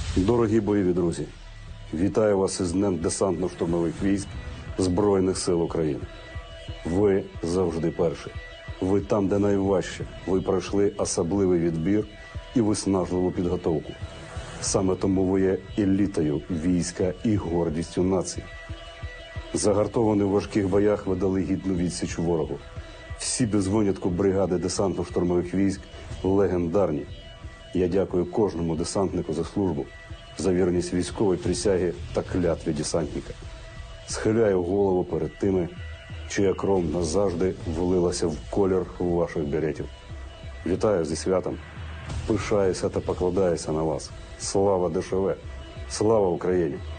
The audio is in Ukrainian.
Дорогі бойові друзі, вітаю вас із Днем десантно-штурмових військ Збройних сил України. Ви завжди перші. Ви там, де найважче. Ви пройшли особливий відбір і виснажливу підготовку. Саме тому ви є елітою війська і гордістю нації. Загартовані в важких боях ви дали гідну відсіч ворогу. Всі без винятку бригади десантно-штурмових військ легендарні. Я дякую кожному десантнику за службу, за вірність військової присяги та клятві десантника. Схиляю голову перед тими, чия кров назавжди влилася в колір ваших беретів. Вітаю зі святом, пишаюся та покладаюся на вас. Слава ДШВ! Слава Україні!